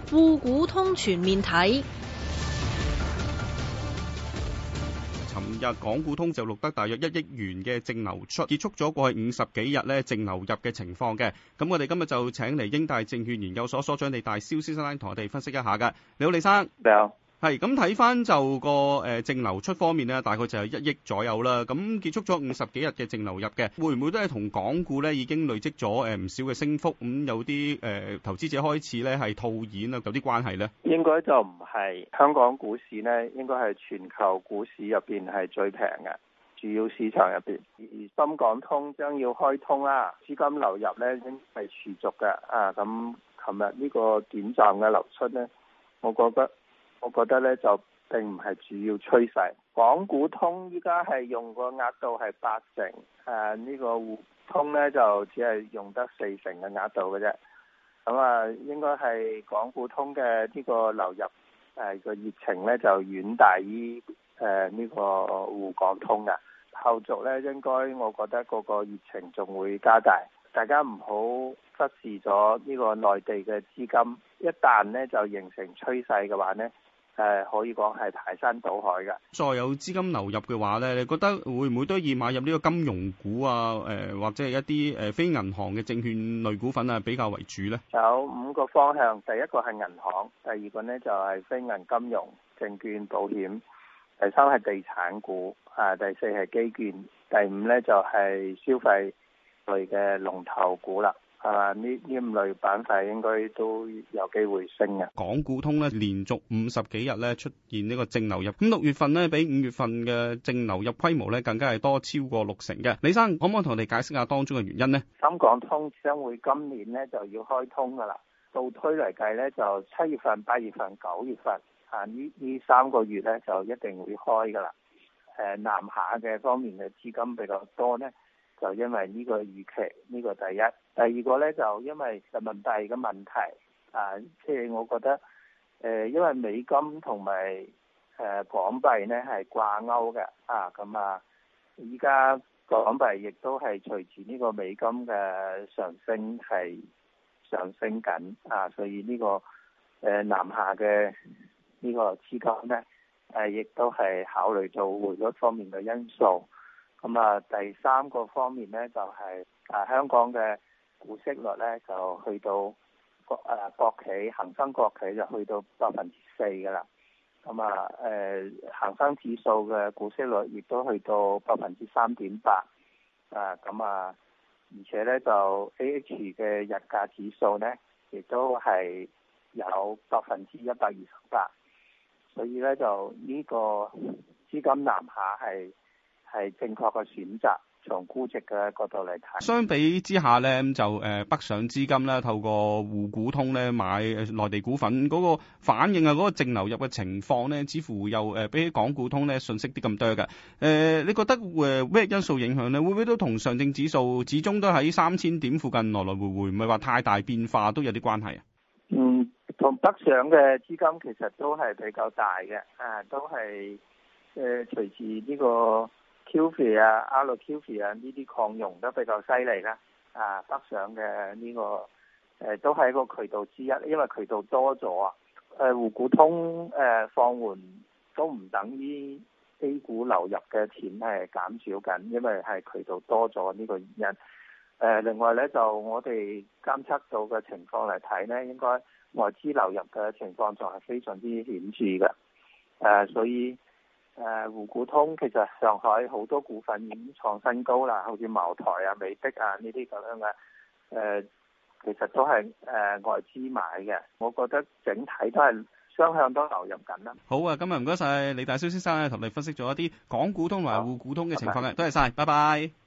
滬股通全面睇。 尋日港股通就錄得大約1億元嘅淨流出，結束咗過去50幾日咧淨流入嘅情況嘅。咁我哋今日就請嚟英大證券研究所所長李大霄先生同我哋分析一下嘅。你好，李生。 你好。 係咁睇翻就個淨流出方面咧，大概就係1億左右啦。咁結束咗50幾日嘅淨流入嘅，會唔會都係同港股咧已經累積咗唔少嘅升幅？咁有啲投資者開始咧係套現啊，有啲關係咧？ 應該就唔係，香港股市咧應該係全球股市入邊係最平嘅主要市場入邊。而深港通將要開通啦，資金流入咧應該係持續嘅。咁琴日呢個短暫嘅流出咧，我覺得咧就並唔係主要趨勢。港股通依家係用個額度係80%，呢個滬通咧就只係用得40%嘅額度嘅啫。咁應該係港股通嘅呢個流入個熱情咧就遠大於呢個滬港通嘅。後續咧應該我覺得嗰個熱情仲會加大，大家唔好忽視咗呢個內地嘅資金，一旦咧就形成趨勢嘅話咧。可以講係排山倒海嘅。 再有資金流入嘅話咧，你覺得會唔會都以買入呢個金融股啊？或者係一啲非銀行嘅證券類股份啊比較為主咧？ 有5個方向，第一個係銀行，第二個咧就係非銀金融、證券、保險，第三係地產股，第四係基建，第5咧就係消費類嘅龍頭股啦。呢5類板塊應該都有機會升嘅。 港股通咧連續50幾日咧出現呢個淨流入，咁6月份咧比5月份嘅淨流入規模咧更加係多超過60%嘅。李生可唔可以同我哋解釋下當中嘅原因呢？ 深港通將會今年咧就要開通噶啦，倒推嚟計咧就7月份、8月份、9月份呢3個月咧就一定會開噶啦。南下嘅方面嘅資金比較多咧。就因為呢個預期，呢個第一。第二個呢，就因為人民幣嘅問題，即係我覺得，因為美金同埋港幣呢係掛鈎嘅，依家港幣亦都係隨住呢個美金嘅上升係上升緊，所以呢個南下嘅呢個資金呢，亦都係考慮到匯率方面嘅因素。第三個方面呢，就係香港嘅股息率呢，就去到國企恒生國企就去到4%㗎啦。恒生指數嘅股息率亦都去到3.8%。而且呢，就 AH 嘅日價指數呢，亦都係有128%。所以呢，就呢個資金南下係正確嘅選擇，從估值嘅角度嚟睇。 相比之下咧，就北上資金啦，透過滬股通咧買內地股份嗰個反應啊，嗰個淨流入嘅情況咧，似乎又比起港股通咧遜色啲咁多嘅。你覺得咩因素影響咧？會唔會都同上證指數始終都喺3000點附近來來回回，唔係話太大變化，都有啲關係啊？ 同北上嘅資金其實都係比較大嘅，都係隨住呢個QFII RQFII 呢啲擴容得比較犀利啦，北上嘅呢個都係一個渠道之一，因為渠道多咗啊。滬股通放緩都唔等於 A 股流入嘅錢係減少緊，因為係渠道多咗呢個原因。另外呢，就我哋監測到嘅情況嚟睇呢，應該外資流入嘅情況仲係非常之顯著嘅，所以滬股通其實上海好多股份已經創新高啦，好似茅台啊、美的啊呢啲咁樣嘅，其實都係外資買嘅。我覺得整體都係雙向都流入緊啦。 好啊，今日唔該晒李大霄先生同你分析咗一啲港股通同埋滬股通嘅情況嘅，多謝晒，拜拜。